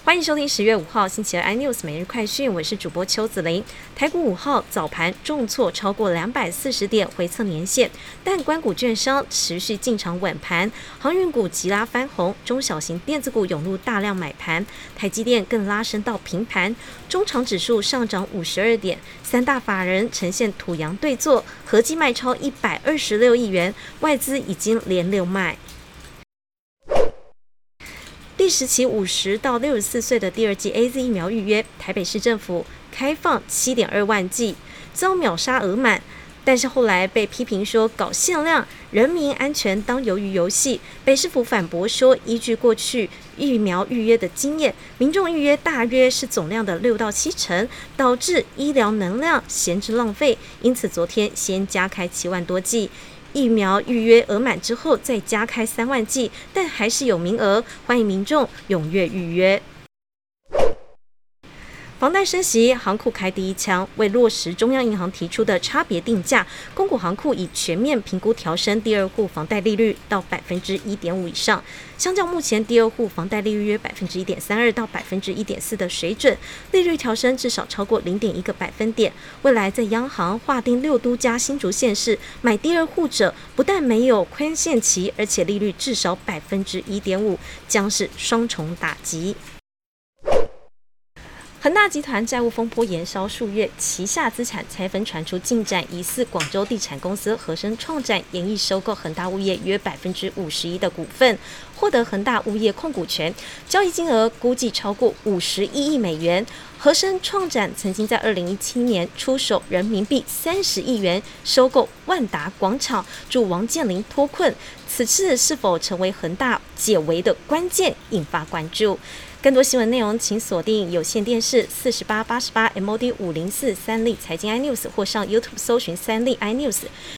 欢迎收听10月5号星期二 iNews 每日快讯，我是主播邱子玲。台股5号早盘重挫超过240点，回测年线，但官股券商持续进场稳盘，航运股急拉翻红，中小型电子股涌入大量买盘，台积电更拉升到平盘，中场指数上涨52点，三大法人呈现土洋对坐，合计卖超126亿元，外资已经连六卖。第10期50到64岁的第二剂 AZ 疫苗预约，台北市政府开放7.2万剂，遭秒杀额满。但是后来被批评说搞限量，人民安全当鱿鱼游戏。北市府反驳说，依据过去疫苗预约的经验，民众预约大约是总量的6到7成，导致医疗能量闲置浪费。因此昨天先加开7万多剂。疫苗预约额满之后再加开3万剂，但还是有名额，欢迎民众踊跃预约。房贷升息，行库开第一枪。为落实中央银行提出的差别定价，公股行库已全面评估调升第二户房贷利率到1.5%以上，相较目前第二户房贷利率约1.32%到1.4%的水准，利率调升至少超过0.1个百分点。未来在央行划定6都加新竹县市买第二户者，不但没有宽限期，而且利率至少1.5%，将是双重打击。恒大集团债务风波延烧数月，旗下资产拆分传出进展，疑似广州地产公司和生创展研议收购恒大物业约51%的股份，获得恒大物业控股权，交易金额估计超过51亿美元。和生创展曾经在2017年出手人民币30亿元收购万达广场，助王健林脱困，此次是否成为恒大解围的关键，引发关注。更多新闻内容，请锁定有线电视4888 MOD 504三立财经 iNews， 或上 YouTube 搜寻三立 iNews。